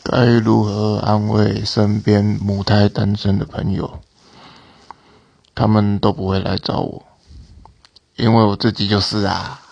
该如何安慰身边母胎单身的朋友？他们都不会来找我，因为我自己就是啊。